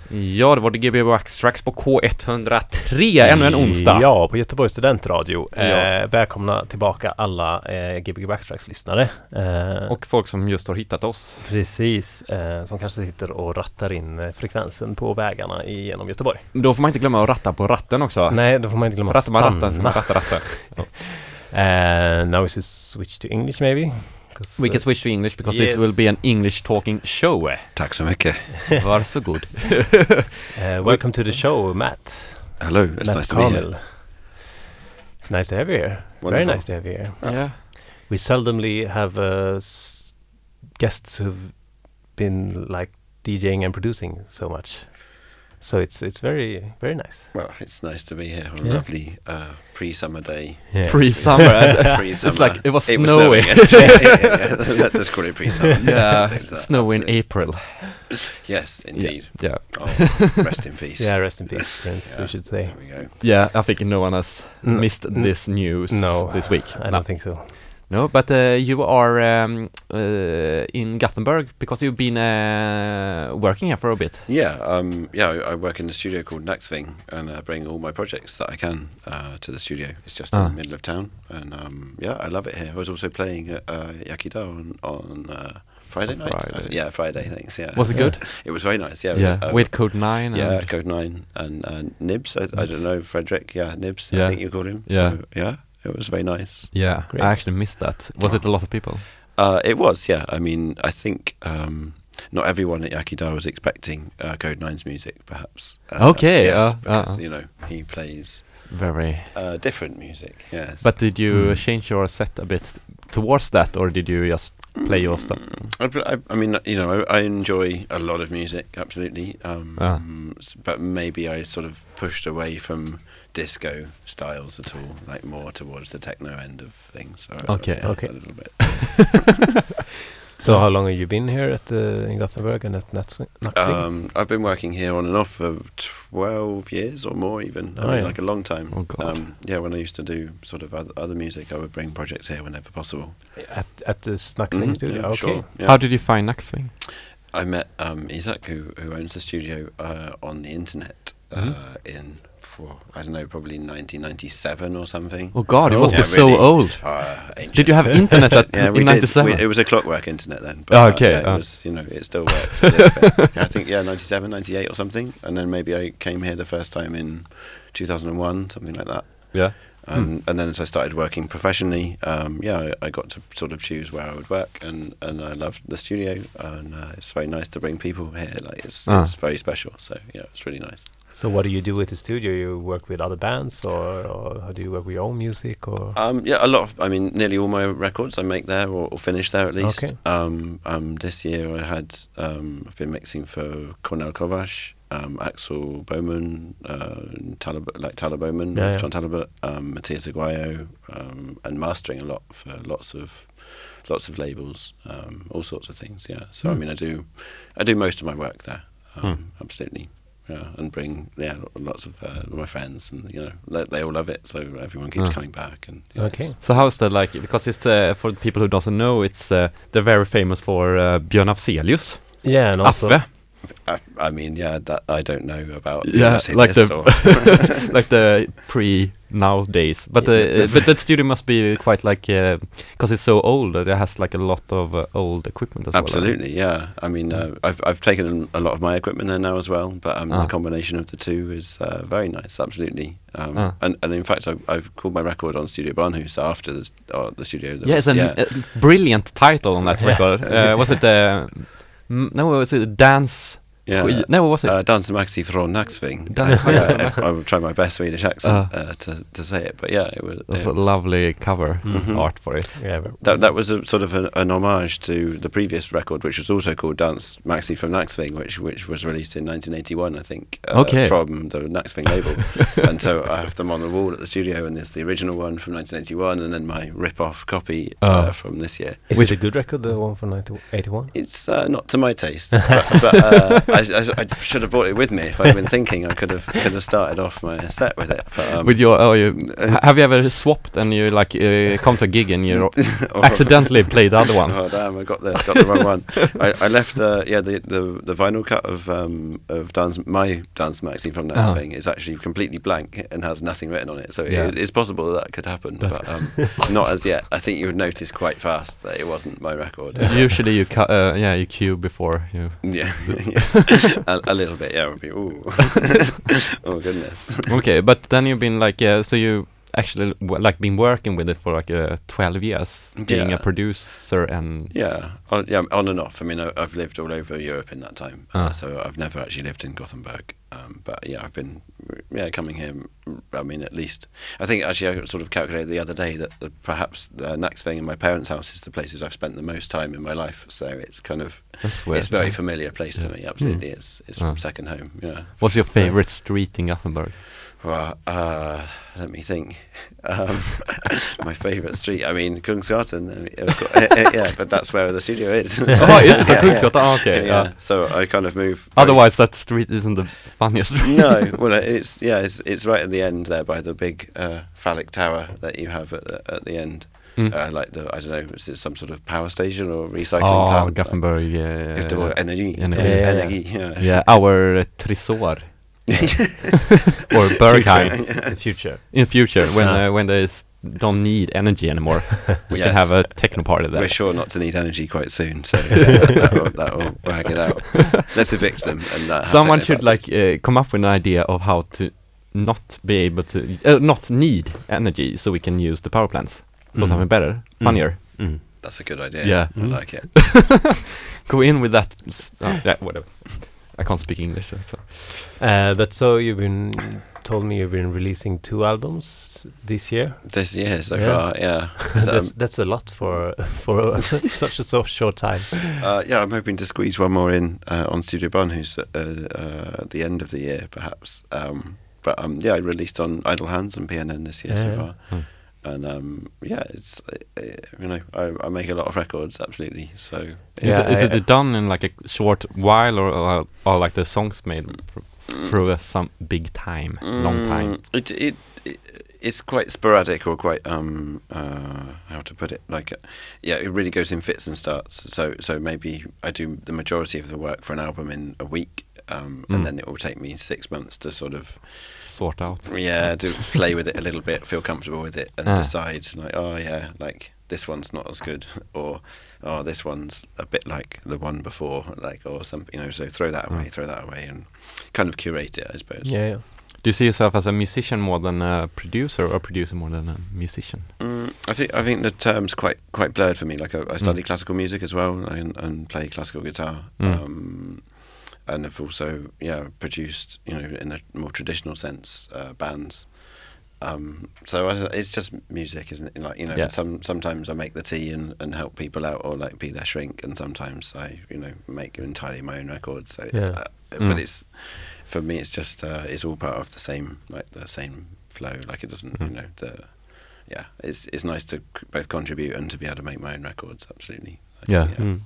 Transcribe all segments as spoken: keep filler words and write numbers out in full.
Ja, det var det G B Backtracks på K ett noll tre, ännu en onsdag. Ja, på Göteborgs studentradio. Ja. Eh, välkomna tillbaka alla eh, G B Backtracks-lyssnare. Eh, Och folk som just har hittat oss. precis, eh, som kanske sitter och rattar in eh, frekvensen på vägarna genom Göteborg. Då får man inte glömma att ratta på ratten också. Nej, då får man inte glömma Rattar man ratten så man rattar ratten. Uh, now we should switch to English maybe. We can switch to English because Yes. this will be an English talking show. Tack så mycket. Varsågod. uh, welcome to the show, Matt. Hello, it's Matt nice to be Carmel. here. It's nice to have you here. Wonderful. Very nice to have you here. Yeah. We seldomly have uh, s- guests who've been like DJing and producing so much. So it's it's very very nice. Well, it's nice to be here on a Yeah. lovely uh, pre-summer day. Yeah. Pre-summer. Pre-summer. It's like it was It was snowy. snowing, yes. yeah, yeah, yeah. Let's call it pre-summer. Yeah, Let's take that, snow in absolutely. April. Yes, indeed. Yeah. Oh, rest in peace. Yeah, rest in peace, Prince. Yeah, We should say. There we go. Yeah, I think no one has N- missed n- this news No, this week. I no. don't think so. No, but uh, you are um, uh, in Gothenburg because you've been uh, working here for a bit. Yeah, um, yeah. I, I work in a studio called Naxving, and I bring all my projects that I can uh, to the studio. It's just in Ah. the middle of town, and um, yeah, I love it here. I was also playing at uh, Yakida on, on uh, Friday On night. I Friday. th- yeah, Friday. Thanks. Yeah. Was it good? It was very nice. Yeah. Yeah, uh, with Code nine. Yeah, and Code Nine and uh, Nibs. I, I Nibs. don't know, Frederick. Yeah, Nibs. Yeah. I think you called him. Yeah. So, yeah. It was very nice. yeah, Great. I actually missed that. Was it a lot of people? Uh, it was. Yeah. I mean, I think um, not everyone at Yakida was expecting uh, Code Nine's music, perhaps. Uh, Okay, Yes, uh, because uh. you know he plays Very. uh, different music. Yes. But did you Mm. change your set a bit towards that, or did you just play your stuff? I, I, I mean, you know, I, I enjoy a lot of music, absolutely. Um, Ah. s- But maybe I sort of pushed away from disco styles at all, like more towards the techno end of things. So, uh, Okay. yeah, Okay. A little bit. So how long have you been here at the in Gothenburg and at Naxving? Um, I've been working here on and off for twelve years or more, even. I Oh, mean, yeah. like a long time. Oh, God. Um, yeah, when I used to do sort of other, other music, I would bring projects here whenever possible. At at the Snackling Mhm, studio. yeah, Okay. sure, yeah. How did you find Naxving? I met um, Isaac, who who owns the studio, uh, on the internet uh, Mhm. in phew, I don't know, probably nineteen ninety-seven or something. Oh God, it Oh. must Yeah, be so really. old. Uh, ancient. Did you have internet at Yeah, we in did. ninety-seven? We, it was a clockwork internet then. But, Oh, uh, okay, yeah, it uh. was, you know, it still worked. a little bit. Yeah, I think yeah, ninety-seven, ninety-eight or something, and then maybe I came here the first time in two thousand one, something like that. Yeah. And, and then as I started working professionally, um, yeah, I, I got to sort of choose where I would work, and, and I loved the studio, and uh, it's very nice to bring people here. Like it's Ah. it's very special. So yeah, it's really nice. So what do you do with the studio? You work with other bands, or, or how do you work with your own music, or? Um, yeah, a lot of, I mean, nearly all my records I make there or, or finish there at least. Okay. Um, um, this year I had, um, I've been mixing for Cornel Kovacs, um, Axel Bowman, uh, Talib- like Tyler Bowman, Yeah, yeah. John Talbot, um, Matthias Aguayo, um, and mastering a lot for lots of lots of labels, um, all sorts of things. Yeah, so Hmm. I mean, I do, I do most of my work there. Um, Hmm. Absolutely. Yeah, and bring yeah lots of uh, my friends, and you know they, they all love it, so everyone keeps Ah. coming back. And yeah, Okay. So how is that like? Because it's uh, for the people who doesn't know, it's uh, they're very famous for uh, Björn Afzelius, Yeah, and also Affe. I, I mean, yeah, that I don't know about. Yeah, Mercedes like the or- like the pre nowadays. But Yeah, uh, the- but that studio must be quite like because it's so old. It has like a lot of uh, old equipment as well. Absolutely, yeah. I mean, uh, I've I've taken a lot of my equipment there now as well, but um, Ah. the combination of the two is uh, very nice. Absolutely, um, Ah. and and in fact, I, I've called my record on Studio Barnhus after the uh, the studio. that Yeah, was- it's a uh, brilliant title on that Yeah. record. Uh, was it uh, m- no? Was it Dance? yeah. Skit- No, what was it? Uh, Dans Maxi från Naxving. Dans Uh, yeah, if- I will try my best Swedish accent Uh. uh, to to say it, but yeah, it was. That's it a was- lovely cover Mhm. art for it. yeah, but- That that was a sort of an, an homage to the previous record, which was also called Dance Maxi from Naxving, which which was released in nineteen eighty-one, I think. Uh, Okay. From the Naxving label, and so I have them on the wall at the studio, and there's the original one from nineteen eighty-one, and then my rip-off copy uh, Oh. from this year. Is Which- it a good record, the one from nineteen eighty-one? It's uh, not to my taste, but, but uh, I, I, I should have brought it with me if I'd been thinking. I could have could have started off my set with it. But, um, with your, oh, you ha- have you ever swapped and you like uh, come to a gig and you oh, accidentally played the other one? Oh damn! I got the got the wrong one. I, I left the yeah the, the, the vinyl cut of um of dance my dance magazine from Next Oh. Thing is actually completely blank and has nothing written on it. So Yeah. it, it's possible that, that could happen, but um, not as yet. I think you would notice quite fast that it wasn't my record. Usually you cut, uh, yeah, you cue before you. Yeah, yeah. a, a little bit. Yeah, would be. Ooh. Oh goodness. Okay, but then you've been like, yeah, so you actually w- like been working with it for like uh, twelve years, being a Yeah. producer and Yeah, on, yeah, on and off. I mean, I, I've lived all over Europe in that time, Ah. uh, so I've never actually lived in Gothenburg. Um, but yeah, I've been, yeah, coming here. I mean, at least I think actually I sort of calculated the other day that the, perhaps uh, Naxving and my parents' house is the places I've spent the most time in my life. So it's kind of that's weird. it's a very familiar place to Yeah. me. Absolutely, it's it's Ah. second home. Yeah. What's your favorite street in Gothenburg? Well, uh, let me think. Um, my favourite street. I mean, Kungsgatan. I mean, of course, yeah, but that's where the studio is. Oh, is it the Yeah, Kungsgatan? Oh, okay. Yeah, yeah. yeah. So I kind of move. very- Otherwise, that street isn't the funniest street. no, well, it's yeah, it's it's right at the end there by the big uh, phallic tower that you have at the, at the end. Mm. Uh, like the I don't know, is it some sort of power station or recycling Oh, plant? Gothenburg, yeah, yeah, Like, yeah. energy, Energy. Yeah, yeah, energy, yeah. Yeah, our uh, Tresor or Berghain Future, The future. in future when Ah. uh, when they s- don't need energy anymore, we Yes. can have a techno party there. We're sure not to need energy quite soon, so yeah, that, will, that will work it out. Let's evict them and uh, have Someone techno should parties. like uh, come up with an idea of how to not be able to uh, not need energy, so we can use the power plants for Mm. something better, Mm. funnier. Mm. That's a good idea. Yeah. I Mm. like it. Go in with that. S- oh, yeah, whatever. I can't speak English, so. Uh, but so you've been told me you've been releasing two albums this year. This year so Yeah. far, yeah. Um, that's that's a lot for for such a so short time. Uh, yeah, I'm hoping to squeeze one more in uh, on Studio Bonn, who's uh, uh, at the end of the year, perhaps. Um, but um, yeah, I released on Idle Hands and P N N this year so Yeah. far, Hmm. and um, yeah, it's uh, you know I, I make a lot of records, absolutely. So Is, Yeah, it, is I- it I- done in like a short while, or or, or like the songs made fr- through a, some big time, long time? Mm, It, it it it's quite sporadic or quite um uh how to put it like uh, yeah, it really goes in fits and starts. So so maybe I do the majority of the work for an album in a week, um, Mm. and then it will take me six months to sort of Sort out. yeah to play with it a little bit, feel comfortable with it, and Ah. decide like oh yeah like this one's not as good, or oh this one's a bit like the one before, like or something, you know. So throw that away, Mm. throw that away, and kind of curate it, I suppose. Yeah, yeah. Do you see yourself as a musician more than a producer, or a producer more than a musician? Mm, I think I think the term's quite quite blurred for me. Like I, I study Mm. classical music as well, and, and play classical guitar, Mm. um, and have also yeah produced, you know, in a more traditional sense, uh, bands. Um, so I, don't- it's just music, isn't it? Like you know, Yeah. some sometimes I make the tea and, and help people out, or like be their shrink, and sometimes I you know make entirely my own records. So it's, Yeah. uh, Mm. but it's for me, it's just uh, it's all part of the same like the same flow. Like it doesn't, Mm. you know, the yeah, it's it's nice to c- both contribute and to be able to make my own records. Absolutely. Like, Yeah. Mm.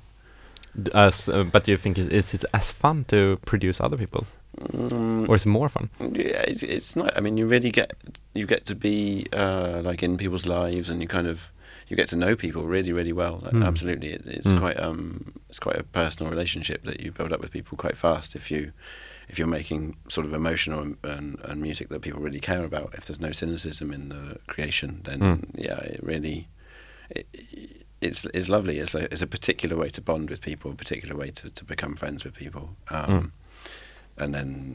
D- As, uh, but do you think it, is it as fun to produce other people, Mm, or is it more fun? yeah, it's it's not. I mean, you really get you get to be uh, like in people's lives, and you kind of you get to know people really, really well. Like, Mm. Absolutely, it, it's Mm. quite um it's quite a personal relationship that you build up with people quite fast if you if you're making sort of emotional and, and, and music that people really care about. If there's no cynicism in the creation, then Mm. yeah, it really it, it's it's lovely. It's a it's a particular way to bond with people, a particular way to, to become friends with people. Um, Mm. And then,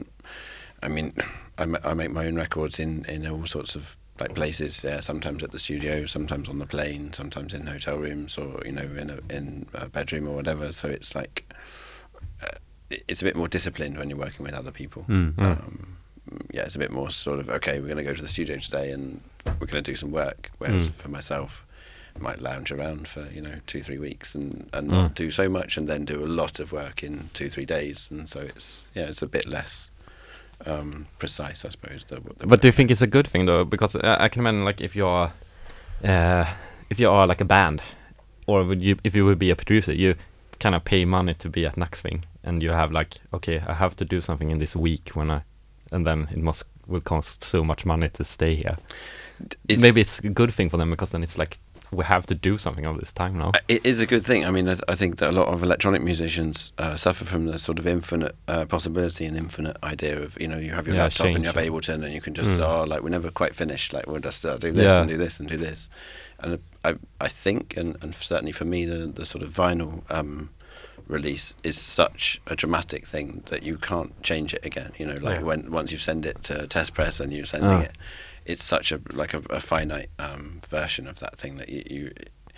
I mean, I, ma- I make my own records in, in all sorts of like places. Yeah, sometimes at the studio, sometimes on the plane, sometimes in hotel rooms, or you know, in a in a bedroom or whatever. So it's like uh, it- it's a bit more disciplined when you're working with other people. Mm. Mm. Um, yeah, it's a bit more sort of okay. We're going to go to the studio today, and we're going to do some work. Whereas Mm. for myself, I might lounge around for you know two three weeks and and Mm. not do so much, and then do a lot of work in two three days. And so it's yeah, it's a bit less um, precise, I suppose. The, the But do you think it's a good thing though? Because uh, I can imagine, like, if you're, uh, if you are like a band, or would you, if you would be a producer, you kind of pay money to be at Naxving, and you have like, okay, I have to do something in this week when I, and then it must will cost so much money to stay here. It's, Maybe it's a good thing for them because then it's like we have to do something all this time now. It is a good thing. I mean, I, th- I think that a lot of electronic musicians uh, suffer from the sort of infinite uh, possibility and infinite idea of, you know, you have your Yeah, laptop and you have change. Ableton and you can just, Mm. oh, like we're never quite finished. Like we'll just uh, do this Yeah. and do this and do this. And I, I think, and, and certainly for me, the, the sort of vinyl um, release is such a dramatic thing that you can't change it again. You know, like Yeah. when once you send it to test press and you're sending Ah. it, it's such a like a, a finite um, version of that thing that you, you.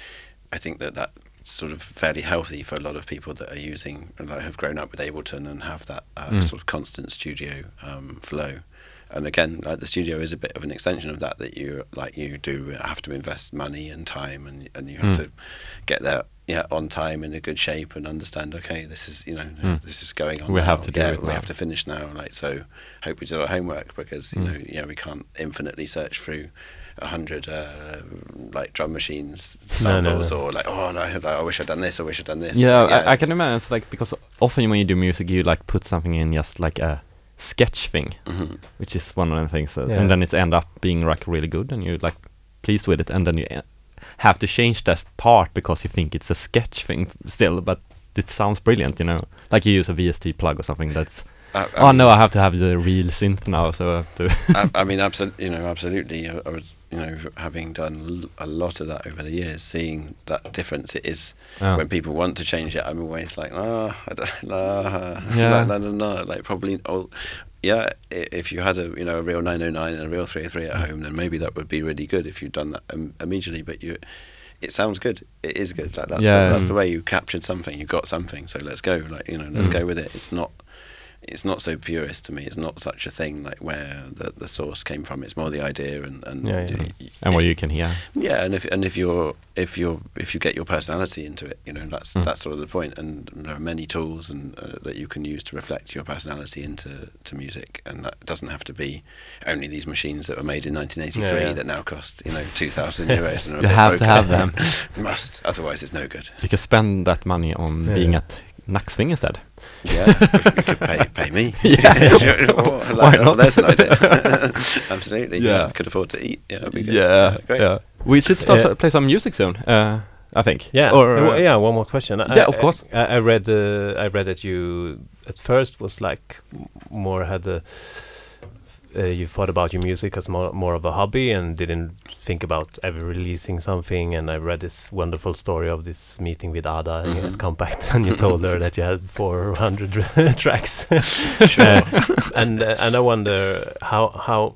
I think that that's sort of fairly healthy for a lot of people that are using, like have grown up with Ableton and have that uh, Mm. sort of constant studio um, flow. And again, like the studio is a bit of an extension of that. That you like you do have to invest money and time, and and you have Mm. to get there, yeah, on time in a good shape, and understand. Okay, this is you know Mm. this is going on. We now. have to do yeah, it we now. have to finish now. Like so, hope we did our homework because you Mm. know yeah we can't infinitely search through a hundred uh, like drum machines No, no, samples no. or like oh no I wish I'd done this I wish I'd done this. Yeah, Like, I, I can imagine. It's like because often when you do music, you like put something in just like a sketch thing, mhm. which is one of the things, that, Yeah. and then it's end up being like really good, and you're like pleased with it, and then you e- have to change that part because you think it's a sketch thing still, but it sounds brilliant, you know. Like you use a V S T plug or something that's. I, I Oh mean, no, I have to have the real synth now, so I have to. I, I mean, absolutely, you know, absolutely. I, I was, you know, having done l- a lot of that over the years, seeing that difference it is Oh. when people want to change it. I'm always like, oh, I don't know, Yeah. no, no, no, like probably, oh, yeah. i- If you had a, you know, a real nine oh nine and a real three oh three at home, then maybe that would be really good if you'd done that um, immediately. But you, it sounds good. It is good. Like that's Yeah. the, that's Mm. the way you captured something. You got something. So let's go. Like you know, let's Mm. go with it. It's not. It's not so purist to me. It's not such a thing like where the, the source came from. It's more the idea and and Yeah, yeah. y- y- And what you can hear. yeah, and if and if you're if you're if you get your personality into it, you know that's Mm. that's sort of the point. And there are many tools and uh, that you can use to reflect your personality into to music, and that doesn't have to be only these machines that were made in nineteen eighty-three Yeah, yeah. that now cost you know two thousand euros. And are a You bit have to broken. have them. You must, otherwise it's no good. You can spend that money on Yeah. being at Nacksving instead. Yeah, you could pay pay me. Yeah. Oh, Why like, oh, not? there's an idea. Absolutely. Yeah. Yeah, could afford to eat. Yeah, that'd be good. Yeah, great. yeah. We should start Yeah. to play some music soon. Uh, I think. Yeah. Or uh, uh, yeah. One more question. I- yeah, of I- course. I, I read. Uh, I read that you at first was like m- more had the. Uh, you thought about your music as more more of a hobby and didn't think about ever releasing something. And I read this wonderful story of this meeting with Ada Mhm. at Compact, and you told her that you had four hundred tracks. Sure. Uh, and uh, and I wonder how how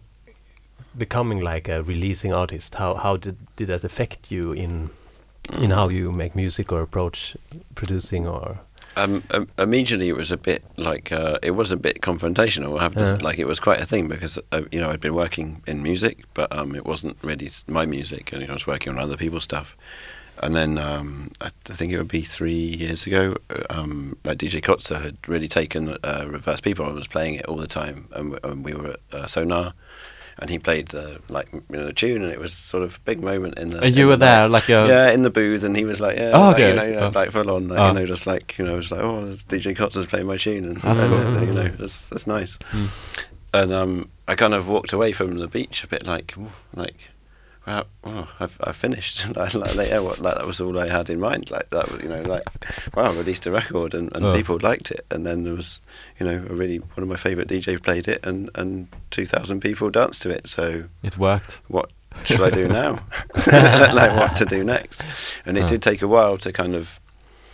becoming like a releasing artist, how how did did that affect you in in how you make music or approach producing or Um, um, immediately, it was a bit like uh, it was a bit confrontational. I have to s- Yeah. like it was quite a thing because uh, you know I'd been working in music, but um, it wasn't really s- my music, and you know, I was working on other people's stuff. And then um, I, th- I think it would be three years ago, uh, um, like D J Kotzer had really taken uh, Reverse People and was playing it all the time, and, w- and we were at uh, Sonar, and he played the like you know the tune, and it was sort of a big moment in the. And in you were the there, night. like a. Yeah, in the booth, and he was like, yeah, Oh, like, you okay. know, you know, Oh. like full on, like, Oh. you know, just like, you know, it was like, oh, there's D J Kotzer's playing my tune, and, That's and, cool. uh, you know, that's that's nice. Mm. And um, I kind of walked away from the beach a bit like, "Ooh," like, wow, oh, I've I've finished. like, like, like, yeah, what, like that was all I had in mind. Like that was, you know, like, wow, I released a record, and, and Oh. people liked it, and then there was, you know, a really one of my favourite D Js played it, and and two thousand people danced to it. So It worked. what should I do now? Like what to do next? And it Oh. did take a while to kind of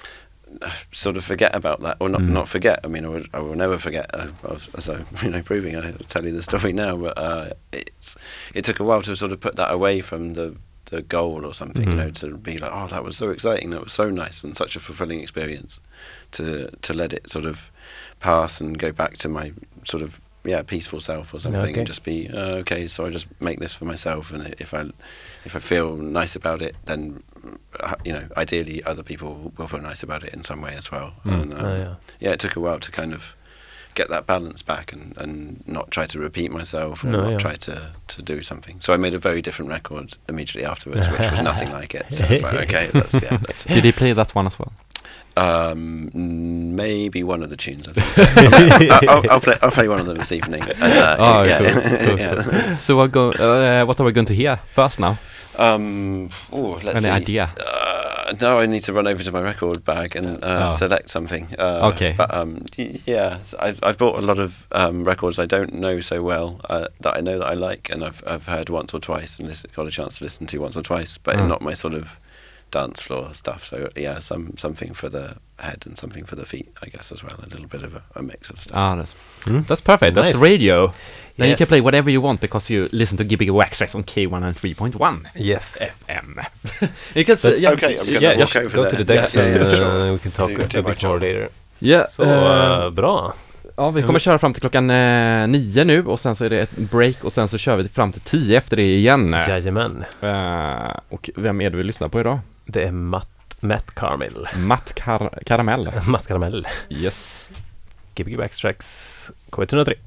uh, sort of forget about that, or not Mm. not forget. I mean, I, would, I will never forget. Uh, as, as I'm you know proving, I tell you the story now, but uh, it's it took a while to sort of put that away from the the goal or something. Mhm. You know, to be like, oh, that was so exciting, that was so nice, and such a fulfilling experience. To to let it sort of pass and go back to my sort of yeah peaceful self or something, Okay. and just be uh, okay. So I just make this for myself, and if I if I feel nice about it, then uh, you know, ideally other people will feel nice about it in some way as well. Mm. And, um, Oh, yeah. yeah, it took a while to kind of get that balance back and, and not try to repeat myself or No, not yeah. try to, to do something. So I made a very different record immediately afterwards, which was nothing like it. So I was like, okay, that's yeah, that's Did he play that one as well? Um, maybe one of the tunes. I think. So. I'll, I'll, I'll play. I'll play one of them this evening. And, uh, Oh, yeah. cool, cool, yeah. So what go? Uh, what are we going to hear first now? Um, oh, let's Any see. idea? Uh, now I need to run over to my record bag and uh, Oh. select something. Uh, Okay. But um, y- yeah, so I've, I've bought a lot of um, records I don't know so well uh, that I know that I like, and I've I've heard once or twice and listen, got a chance to listen to once or twice, but Mm. not my sort of dance floor stuff. So yeah, some something for the head and something for the feet, I guess, as well. A little bit of a, a mix of stuff. Ah, that's, Mm. that's perfect. That's Nice. radio. Then you Yes. can play whatever you want because you listen to Gbg Wax Tracks on K one oh three point one Yes. F M. Because uh, But- yeah, Okay, I'm gonna Yeah, walk just over go there. to the decks Yeah, yeah, and yeah, sure. uh, we can talk Do- a, do a my bit more job. later. yeah, Så eh, uh, bra. ja, vi kommer köra fram till klockan eh, nio nu och sen så är det ett break och sen så kör vi fram till tio efter det igen. Jajamän. Eh, och vem är det vi lyssnar på idag? Det är Matt, Matt Carmel. Matt Kar- Karamell. Matt Caramel. Yes. Gbg Wax Tracks K ett noll tre.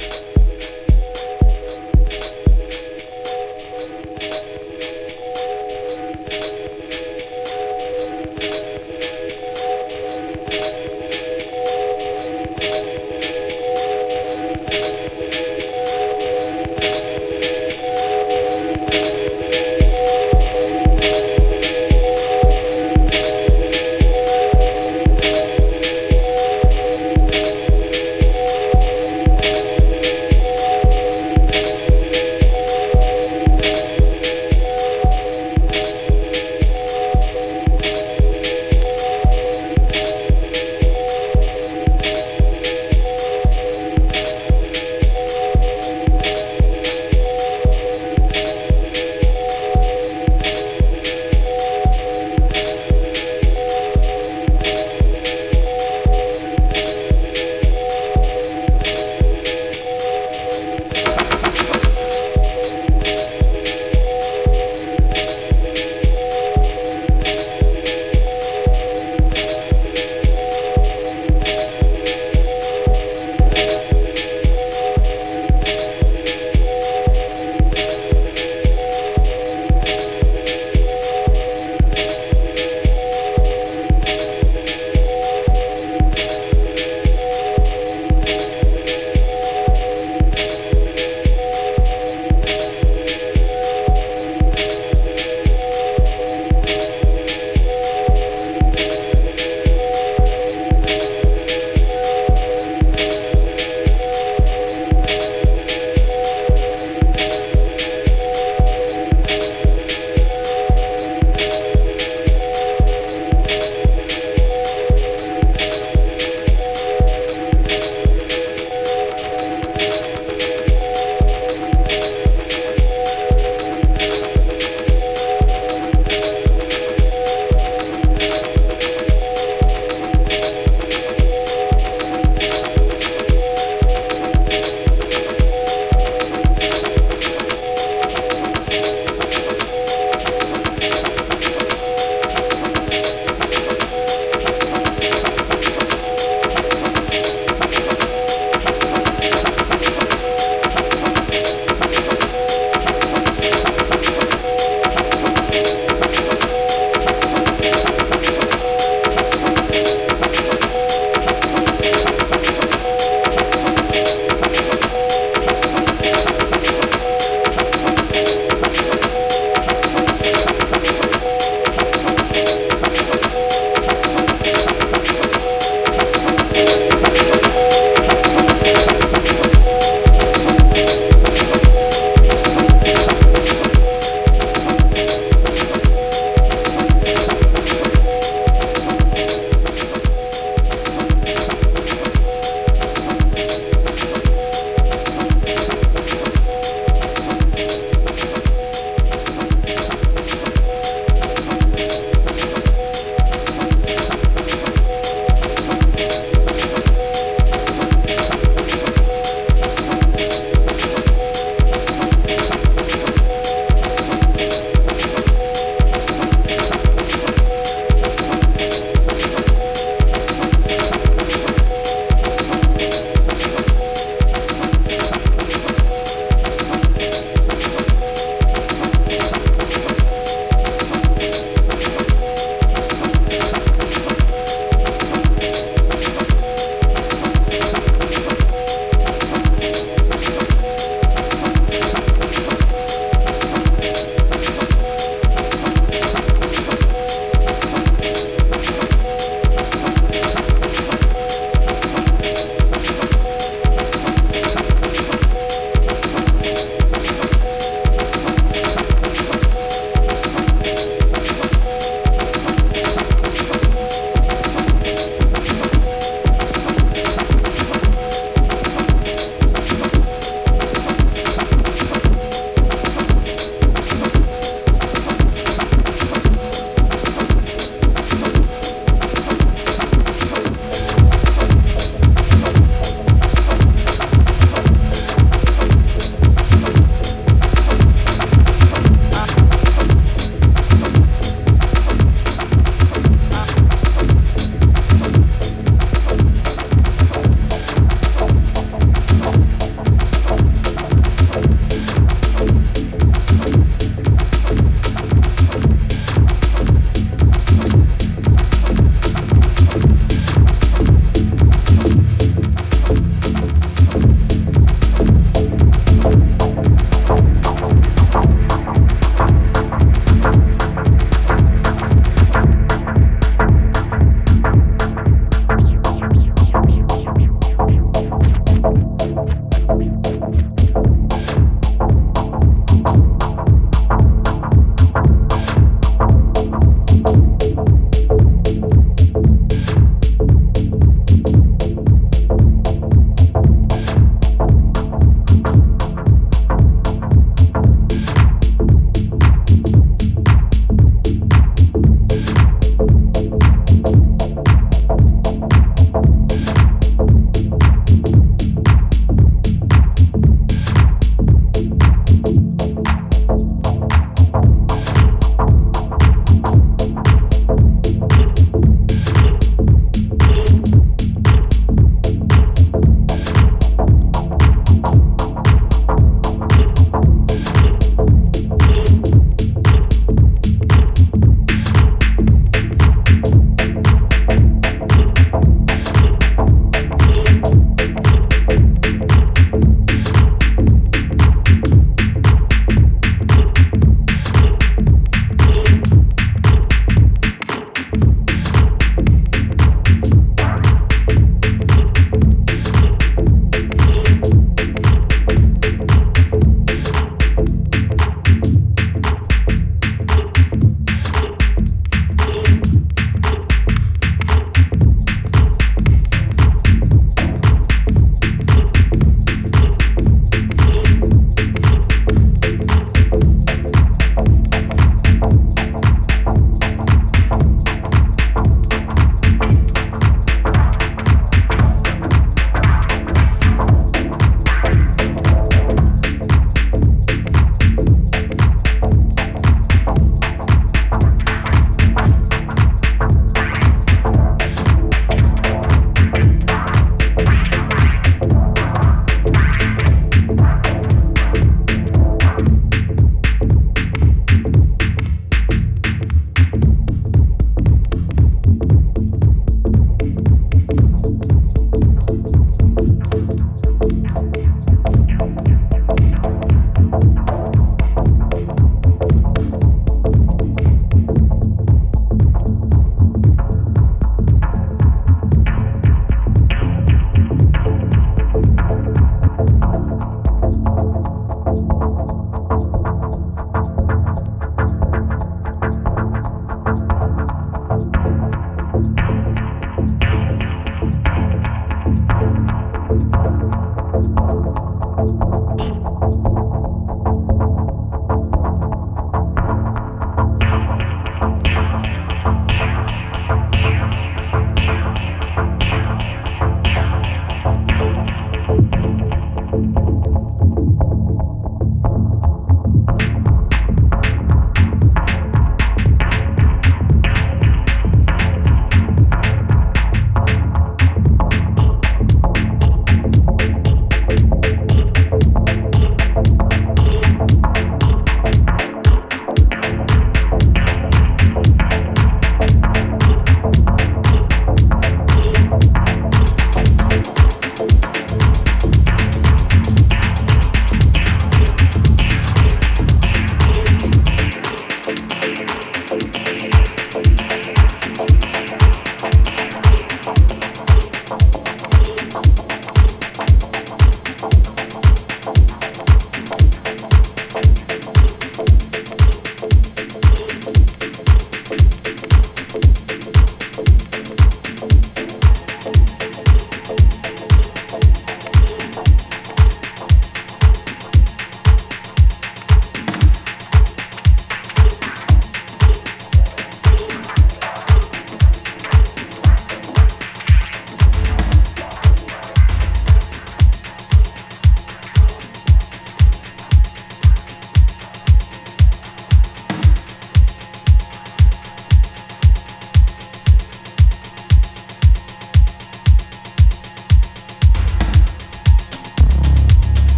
Thank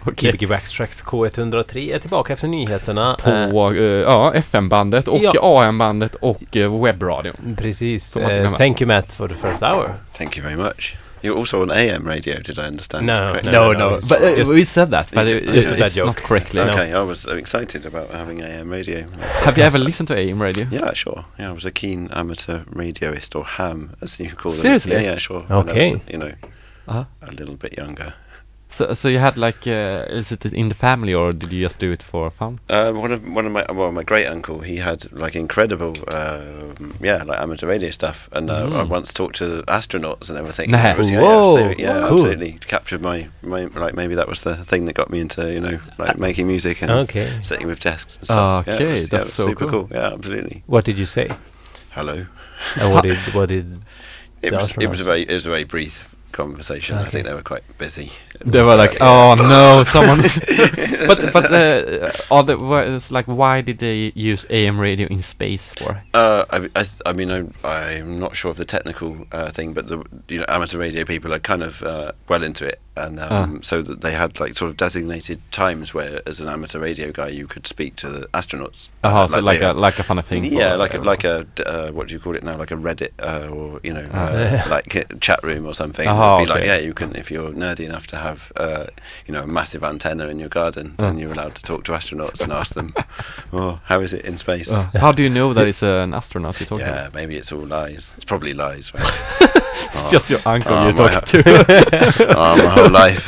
Okej. Gbg Backtracks K ett noll tre är tillbaka efter nyheterna. På Eh, eh, ja, F M-bandet och Ja. A M-bandet och eh, webbradion. precis. Som att Eh, glömma. thank you Matt for the first hour. Thank you very much. You're also on A M radio, did I understand? No, correctly? no, No, no, no, it's but uh, just- we said that, but it, just a bad it's joke. not correctly. No. Okay, I was so excited about having A M radio. Have you ever listened to A M radio? Yeah, sure. Yeah, I was a keen amateur radioist, or ham, as you call them. Seriously? Yeah, yeah, sure. When I was, Okay. you know, Uh-huh. a little bit younger. So, so you had like, uh, is it in the family or did you just do it for fun? Um, one of one of my well, my great uncle, he had like incredible, um, yeah, like amateur radio stuff, and uh, I Mm. once talked to astronauts and everything. Nah. It was- yeah, Whoa, yeah, so, yeah, cool. absolutely captured my, my like maybe that was the thing that got me into you know like making music and Okay. sitting with desks and stuff. Yeah, it Okay, was- yeah, that's it was so super cool. cool. Yeah, absolutely. What did you say? Hello. And what did what did It The was it was astronauts. a very it was a very brief conversation. I Okay. think they were quite busy. They were like, oh no, someone. but but uh, are the, wha- it's like, why did they use A M radio in space for? Uh, I, I, I mean, I'm, I'm not sure of the technical uh, thing, but the you know amateur radio people are kind of uh, well into it, and um, Ah. so that they had like sort of designated times where, as an amateur radio guy, you could speak to the astronauts. Uh-huh, Uh, so like they a had- like a funny thing. yeah, for like a everyone. like a d- uh, what do you call it now? Like a Reddit uh, or you know Ah. uh, like a chat room or something. Ah, It'd be like okay. yeah, you can if you're nerdy enough to have uh, you know a massive antenna in your garden, Ah. then you're allowed to talk to astronauts and ask them, oh, how is it in space? Uh, how do you know that it's uh, an astronaut you're talking Yeah, about? maybe it's all lies. It's probably lies, right? It's just your uncle Oh, you're my talking to. oh, my whole life.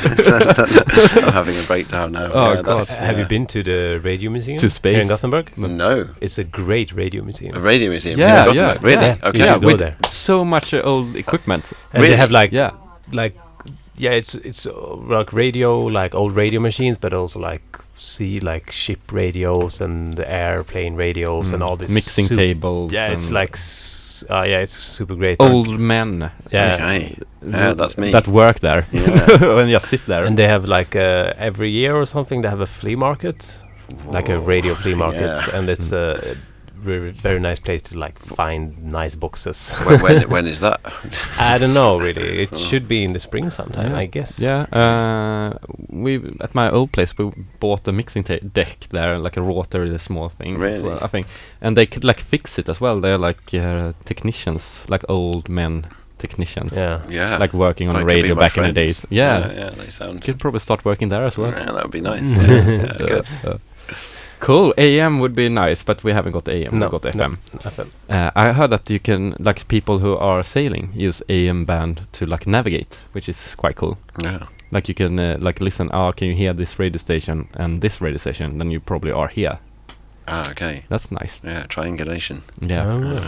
I'm having a breakdown now. Oh, yeah, God. that's- Have you yeah. been to the radio museum To space? here in Gothenburg? No. It's a great radio museum. A radio museum? Yeah, in yeah, Gothenburg? Really? yeah. Okay. You Yeah, should go with there. so much uh, old equipment. And Really? they have like Yeah. like yeah, it's it's uh, like radio, like old radio machines, but also like sea like ship radios and the airplane radios and Mm. all this Mixing sup- tables. Yeah, it's and like s- uh, yeah, it's super great. old men. Yeah. Okay. Yeah, that's me. That work there. Yeah. And just sit there. And they have like uh, every year or something they have a flea market, like a Whoa. radio flea market, Yeah. and it's a very very nice place to like find nice boxes. when, when, when is that? I don't know really. It Oh. should be in the spring sometime, Yeah. I guess. Yeah, uh, we at my old place we bought a mixing ta- deck there, like a rotary, the small thing. as Really? well, I think, and they could like fix it as well. They're like uh, technicians, like old men technicians, Yeah. Yeah. like working on That the could be radio my back in the friends. days. Yeah, Yeah, yeah, they sound. could probably start working there as well. Yeah, that would be nice. Yeah, yeah, good. Uh, cool. A M would be nice, but we haven't got A M. No, We've got F no. M. F M. Uh, I heard that you can, like, people who are sailing use A M band to like navigate, which is quite cool. Yeah. Like you can uh, like listen. Oh, can you hear this radio station and this radio station? Then you probably are here. Ah, okay. That's nice. Yeah, triangulation. Yeah. Oh, yeah.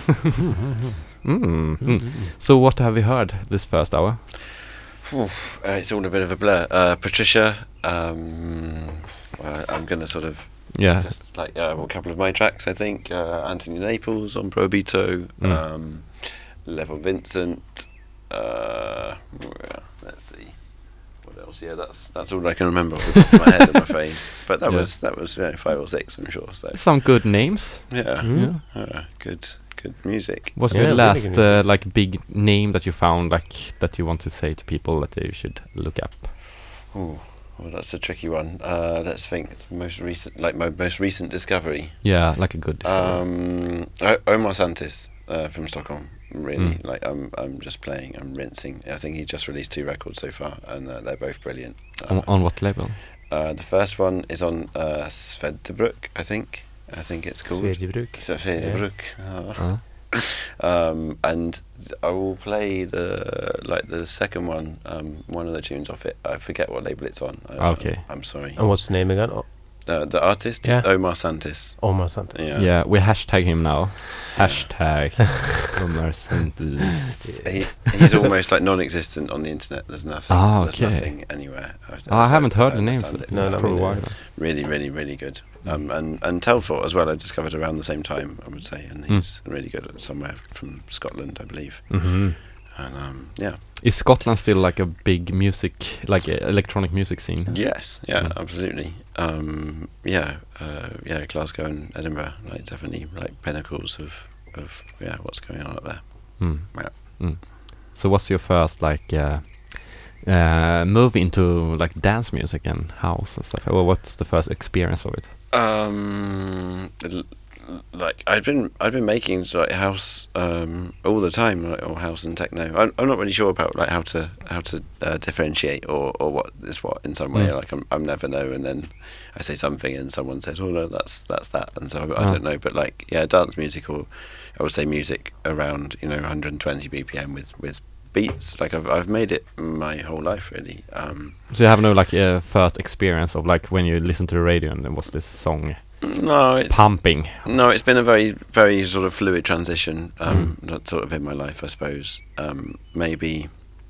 Mm. Mm. So what have you heard this first hour? Oof, uh, it's all a bit of a blur. Uh, Patricia, um, uh, I'm going to sort of Yeah. just like uh, a couple of my tracks, I think. Uh, Anthony Naples on Probito, Mm. um, Level Vincent. Uh, yeah, let's see, what else? Yeah, that's that's all I can remember off the top of my head, I'm afraid. But that Yeah. was that was yeah, five or six, I'm sure. So Some good names. yeah, Mm. Yeah. uh, good good music. What's Yeah, your really last good music. uh, like big name that you found, like that you want to say to people that they should look up? Ooh, well, that's a tricky one. Uh, let's think. The most recent, like my most recent discovery. Yeah, like a good. discovery. Um, o- Omar Santis uh, from Stockholm. Really, Mm. like I'm, I'm just playing. I'm rinsing. I think he just released two records so far, and uh, they're both brilliant. Uh, on, on what label? uh, the first one is on uh, Svedjebruk, I think. I think it's called Svedjebruk. Svedjebruk. Oh. Uh, Um, and I will play the like the second one, um, one of the tunes off it. I forget what label it's on. I, Okay. I'm sorry. And what's the name again? Oh, Uh, the artist, Yeah. Omar Santis. Omar Santos. Yeah. yeah. we hashtag him now. Hashtag Omar Santos. He, he's almost like non-existent on the internet. There's nothing. Ah, There's okay. nothing anywhere. I, Oh, I as haven't as heard I the names. understand it. No, That's no, probably me why. neither. Really, really, really good. Um, and and Telfort as well. I discovered around the same time, I would say, and Mm. he's really good at somewhere from Scotland, I believe. Hmm. And um, yeah, Is Scotland still like a big music, like uh, electronic music scene? yes, yeah, Mm. absolutely. Um, yeah, uh, yeah, Glasgow and Edinburgh, like definitely like pinnacles of of yeah, what's going on up there. Mm. Yeah. Mm. So what's your first like uh, uh, move into like dance music and house and stuff? Or what's the first experience of it? Um, l- like I'd been I'd been making like house um all the time, like, or house and techno. I'm I'm not really sure about like how to how to uh, differentiate or, or what is what in some way. Mm. Like I'm I'm never know, and then I say something and someone says, oh no, that's that's that, and so I, I Oh. don't know. But like yeah, dance music, or I would say music around you know one hundred twenty B P M with with beats. Like I've I've made it my whole life really. Um, So you have no like uh, first experience of like when you listen to the radio and there was this song no, it's pumping. No, it's been a very, very sort of fluid transition, um, Mm. that sort of in my life, I suppose. Um, maybe,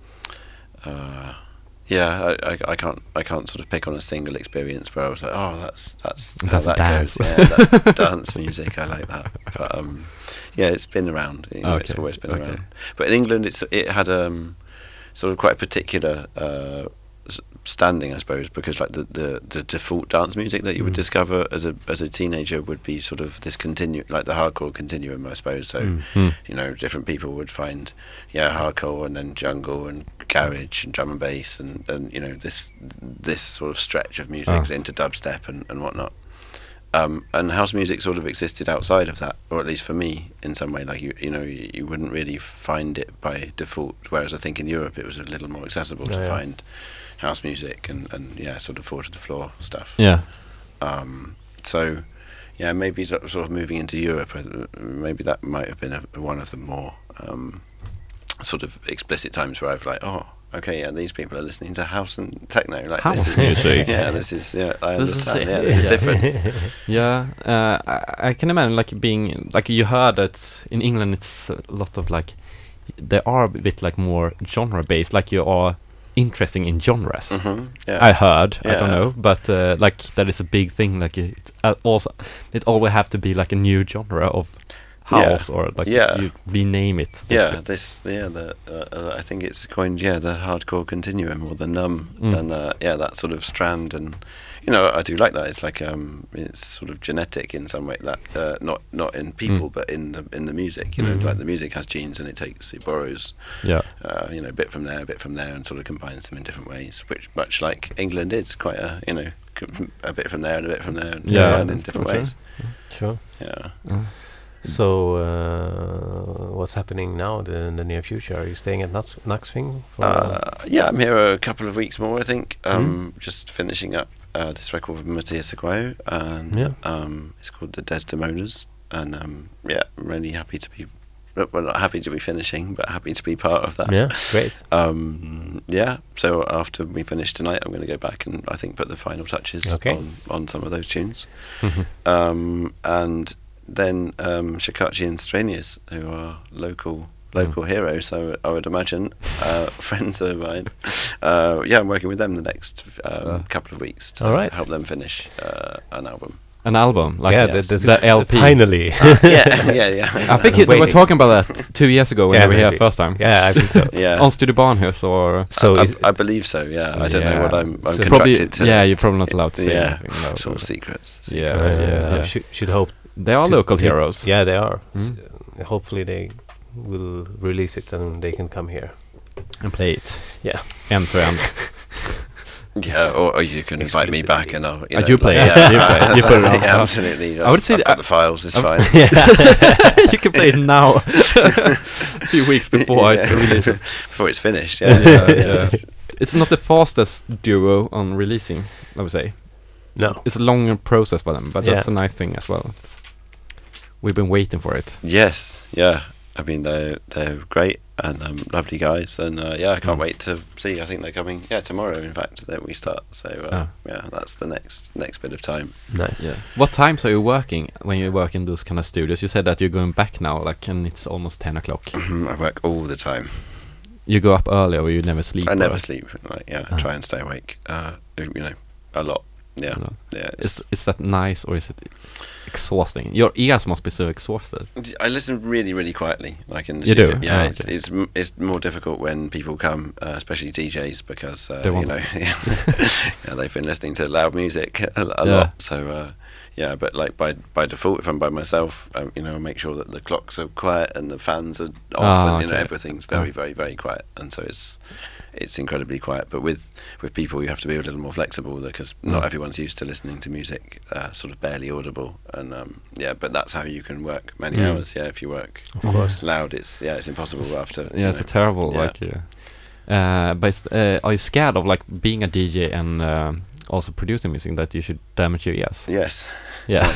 uh, yeah, I, I, I can't, I can't sort of pick on a single experience where I was like, oh, that's that's how That's that dance. goes. Yeah, that's dance music. I like that. But um, yeah, it's been around. You know, It's Okay, always been okay. around. But in England, it's it had um, sort of quite a particular uh, s- standing, I suppose, because like the, the, the default dance music that you would Mm. discover as a as a teenager would be sort of this continue like the hardcore continuum, I suppose. So Mm. Mm. you know, different people would find yeah hardcore and then jungle and garage and drum and bass and, and you know this this sort of stretch of music Ah. into dubstep and, and whatnot. Um, and house music sort of existed outside of that, or at least for me, in some way. Like you, you know, you, you wouldn't really find it by default. Whereas I think in Europe it was a little more accessible Oh, to yeah. find house music and, and yeah, sort of four to the floor stuff. Yeah. Um, so yeah, maybe sort of sort of moving into Europe, uh, maybe that might have been a, one of the more um, sort of explicit times where I've like, oh, okay, yeah, these people are listening to house and techno. Like House this is, music. yeah, this is yeah, I This is understand. it. Yeah, this is Yeah. different. Yeah, uh, I, I can imagine like being like you heard that in England it's a lot of like they are a bit like more genre based, like you are interesting in genres. hmm Yeah. I heard, I don't Yeah. know, but uh, like that is a big thing. Like it's uh, also it always have to be like a new genre of Yeah. house or like Yeah. you rename it. Yeah, basically. this yeah the uh, uh, I think it's coined yeah the hardcore continuum or the numb Mm. and uh, yeah that sort of strand, and you know I do like that. It's like um it's sort of genetic in some way, that uh, not not in people Mm. but in the in the music. You know, Mhm. like the music has genes and it takes it borrows Yeah. uh, you know a bit from there, a bit from there, and sort of combines them in different ways. Which much like England is quite a you know c- a bit from there and a bit from there, and Yeah, combined in for different sure. ways. Sure. Yeah. Uh, So, uh, what's happening now the, in the near future? Are you staying at Nuts, Naxving? For, Uh, yeah, I'm here a couple of weeks more, I think. Um, Mm. Just finishing up uh, this record with Matthias Aguayo, and Yeah. um, it's called The Desdemonas. And um, yeah, I'm really happy to be, well, not happy to be finishing, but happy to be part of that. yeah, great. Um, yeah, so after we finish tonight, I'm going to go back and I think put the final touches Okay. on, on some of those tunes. Um, and then um, Shikachi and Stranius, who are local local heroes, I would- I would imagine, uh, friends of mine. Uh, yeah, I'm working with them the next um, Uh. couple of weeks to All right. help them finish uh, an album. An album, like yeah, yes. that, that's the L P. Finally. yeah, yeah, yeah. I think it, we were Waiting. talking about that two years ago when Yeah, you were here maybe. first time. yeah, I think so. yeah. On Studio Barnhus or So I, is, I believe so. Yeah, I don't know what I'm. I'm So contracted probably to. yeah, you're probably not allowed to say yeah, anything. though, sort of but secrets. Yeah, uh, yeah, I yeah. Should, should hope. They are to- local to- heroes. Yeah, they are. Mm. S- uh, hopefully, they will release it and they can come here. And play it. Yeah. End to end. Yeah, or, or you can invite me back Exclusively. and I'll. You Uh, know, you play like, it. You play- you put it on. yeah, absolutely. I would say I've that- got the files. It's I'm- fine. you can play it now. A few weeks before Yeah. it's releases. Before it's finished. Yeah, Yeah, yeah, yeah. It's not the fastest duo on releasing, I would say. No. It's a longer process for them, but Yeah. that's a nice thing as well. We've been waiting for it. Yes, yeah. I mean, they're they're great and um, lovely guys, and uh, yeah, I can't Mm. wait to see. I think they're coming. Yeah, tomorrow. In fact, that we start. So uh, Ah. yeah, that's the next next bit of time. Nice. Yeah. What times are you working when you work in those kind of studios? You said that you're going back now, like, and it's almost ten o'clock. I work all the time. You go up early, or you never sleep? I never or- sleep. Like yeah, I Ah. try and stay awake. Uh, you know, a lot. Yeah, No. yeah. Is It's, is that nice or is it exhausting? Your ears must be so exhausted. I listen really, really quietly, like in the You do? studio. Yeah, Oh, it's okay. it's m- it's more difficult when people come, uh, especially D Js, because uh, They you want- know, yeah, yeah, they've been listening to loud music a, a Yeah. lot. So uh, yeah, but like by by default, if I'm by myself, um, you know, I make sure that the clocks are quiet and the fans are off, Ah, and you know okay. everything's very, Ah. very, very quiet, and so it's it's incredibly quiet. But with with people, you have to be a little more flexible because not Mm. everyone's used to listening to music uh, sort of barely audible, and um, yeah, but that's how you can work many Mm. hours. Yeah, if you work Of course. loud, it's yeah, it's impossible It's- after. you Yeah, it's a know. terrible yeah. like. Yeah. Uh, but it's, uh, are you scared of like being a D J and um also producing music that you should damage your ears? Yes. Yeah.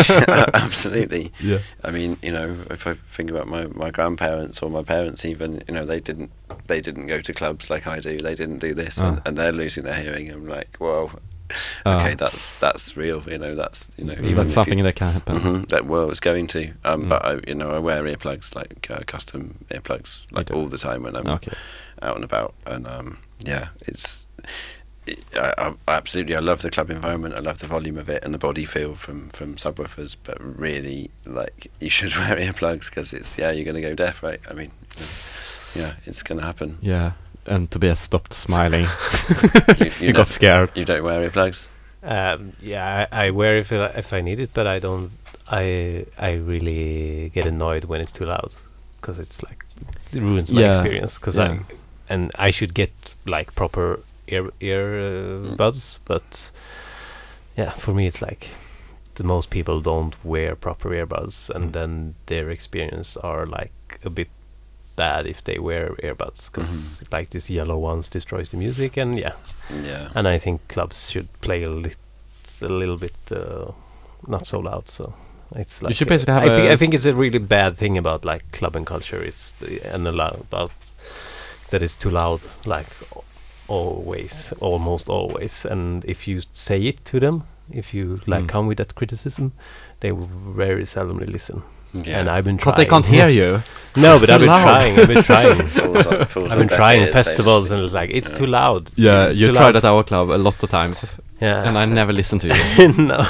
Absolutely. Yeah. I mean, you know, if I think about my, my grandparents or my parents, even, you know, they didn't they didn't go to clubs like I do. They didn't do this, Ah. and, and they're losing their hearing. I'm like, well, Ah. okay, that's that's real. You know, that's you know, Mm, even that's if something you, that can happen. hmm that well, it's going to. Um, Mm. but I, you know, I wear earplugs like uh, custom earplugs like do. all the time when I'm Okay. out and about, and um, yeah, it's. It, I, I absolutely, I love the club environment. I love the volume of it and the body feel from from subwoofers. But really, like, you should wear earplugs because it's yeah, you're going to go deaf, right? I mean, you know, yeah, it's going to happen. Yeah. And Tobias stopped smiling. You, He you, got don't, scared. you don't wear earplugs. Um, yeah, I, I wear if I, if I need it, but I don't. I I really get annoyed when it's too loud because it's like it ruins my Yeah, experience. Because yeah. I and I should get like proper ear ear uh, Mm. buds, but yeah, for me it's like the most people don't wear proper earbuds, and Mm. then their experience are like a bit bad if they wear earbuds because Mhm. like these yellow ones destroys the music, and yeah. Yeah. And I think clubs should play a, lit, a little bit uh, not so loud. So it's like should uh, basically have I think a I think s- it's a really bad thing about like clubbing culture. It's the, and a lot about that it's too loud, like al- always, almost always. And if you say it to them, if you like Mm. come with that criticism, they will very seldomly listen. Yeah. And I've been Because trying. they can't hear you. No, It's but too I've been loud. trying. I've been trying. Falls on- falls I've on been deaf trying ears, so to festivals, speak. and it's like it's Yeah. too loud. Yeah, It's you too tried loud. at our club a lot of times, Yeah. and I never listened to you. no.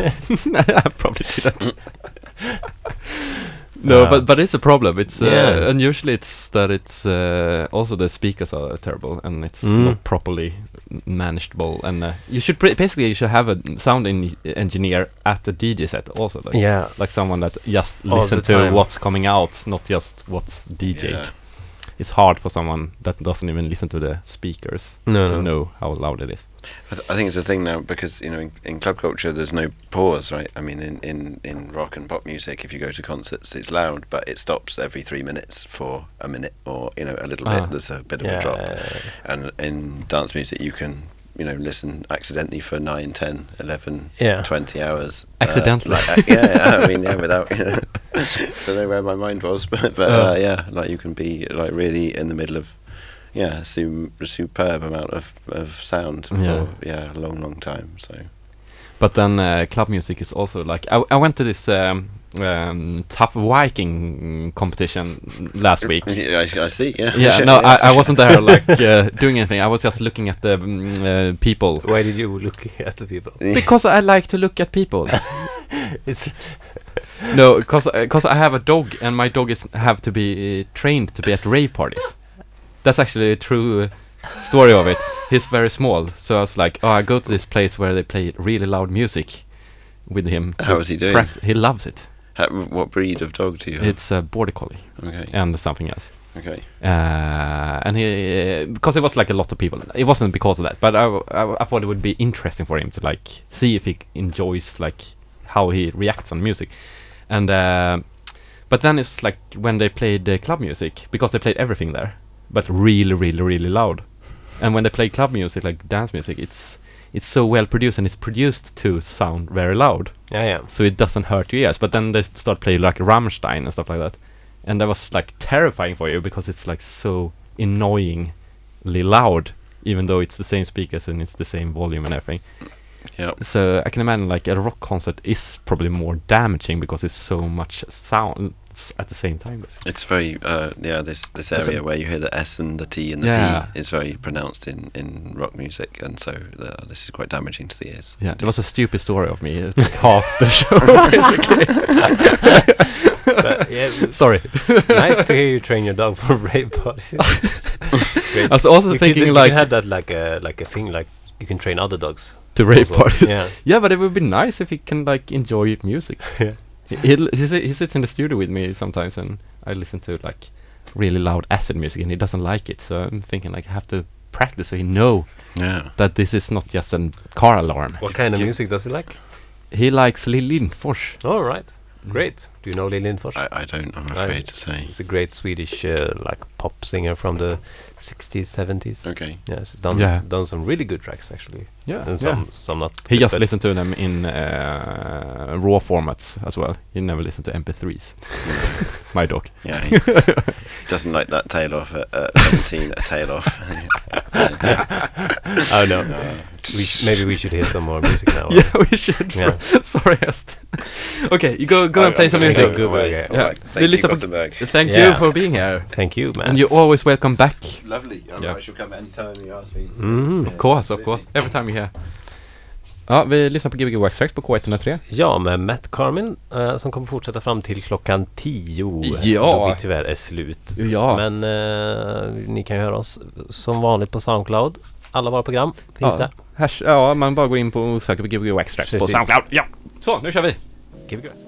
I probably did that. No, Uh, but but it's a problem. It's uh, Yeah. and usually it's that it's uh, also the speakers are terrible and it's Mm. not properly n- manageable. And uh, you should pre- basically you should have a sound en- engineer at the D J set also, like Yeah. like someone that just All listen the to time. what's coming out, not just what's D J'd. Yeah. It's hard for someone that doesn't even listen to the speakers No, to no. know how loud it is. I, th- I think it's a thing now because you know in, in club culture there's no pause, right? I mean in, in, in rock and pop music, if you go to concerts, it's loud, but it stops every three minutes for a minute or you know a little Ah. bit. There's a bit of Yeah. a drop, and in dance music you can you know listen accidentally for nine, ten, eleven, Yeah. twenty hours. Accidentally. Uh, like, uh, yeah, I mean yeah, without you know, don't know where my mind was, but but Oh. uh, yeah, like you can be like really in the middle of. Yeah, su- superb amount of, of sound for Yeah. yeah. a long, long time. So But then uh, club music is also like I, I went to this um, um, tough Viking competition last week. yeah, I, I see. Yeah, Yeah, no, I, I wasn't there like uh, doing anything. I was just looking at the um, uh, people Why did you look at the people? because I like to look at people. It's No, because because I have a dog and my dog is have to be uh, trained to be at rave parties. That's actually a true uh, story of it. He's very small, so I was like, oh, I go to this place where they play really loud music with him. to How is he doing? pract- He loves it. How, what breed of dog do you have? It's a border collie Okay. and something else. Okay. Uh, and he, because it was like a lot of people. It wasn't because of that, but I, I, I thought it would be interesting for him to like see if he enjoys like how he reacts on music. And uh, but then it's like when they played the club music, because they played everything there, but really, really, really loud. And when they play club music, like dance music, it's it's so well produced and it's produced to sound very loud, yeah, yeah. so it doesn't hurt your ears. But then they start playing like Rammstein and stuff like that, and that was like terrifying for you because it's like so annoyingly loud, even though it's the same speakers and it's the same volume and everything. Yeah. So I can imagine like a rock concert is probably more damaging because it's so much sound s- at the same time. Basically. It's very uh, yeah. This this That's a- area where you hear the S and the T and the Yeah. P is very pronounced in, in rock music, and so uh, this is quite damaging to the ears. Yeah, it was a stupid story of me. It took half the show basically. But, yeah, Sorry. nice to hear you train your dog for rave parties. Great. I was also You thinking could, like you had that like a like a thing like you can train other dogs. To rave also. parties. Yeah. Yeah, but it would be nice if he can like enjoy music. Yeah. he, he, he si- he sits in the studio with me sometimes, and I listen to like really loud acid music, and he doesn't like it. So I'm thinking like I have to practice so he know Yeah. that this is not just a car alarm. What kind of Yeah. music does he like? He likes Lill Lindfors. All right. Great. Do you know Lill Lindfors? I, I don't, I'm I- afraid to say. It's a great Swedish uh, like pop singer from the sixties, seventies. Okay. Yes, done Yeah. done some really good tracks actually, Yeah, and yeah. some some not. He good, just but- listened to them in uh, raw formats as well. He never listened to M P threes. My dog. Yeah. He doesn't like that tail off at uh, seventeen, a tail off. Oh no. We sh- maybe we should hear some more music now. Yeah, we should. Yeah. Sorry, Est. Okay, you go go I- and play I'm some gonna music. go. away. Okay. All Yeah. right. Vi Thank you, lyssnar på- Gothenburg. Thank Yeah. you for being here. Thank you, man. And you're always welcome back. Lovely. Oh, Yeah. I shall come anytime you ask me. Mhm. Of course, of course. Every time you're here. Ja, vi lyssnar på Gbg Wax Tracks på K ett noll tre. Ja, med Matt Carmin eh, som kommer fortsätta fram till klockan tio. Ja. Då vi tyvärr är slut. Ja. Men eh, ni kan ju höra oss som vanligt på Soundcloud. Alla våra program finns Ja. där. Hash, ja, man bara går in på och söker på Gbg Wax Tracks på Precis. Soundcloud. Ja, så nu kör vi. Give it a go.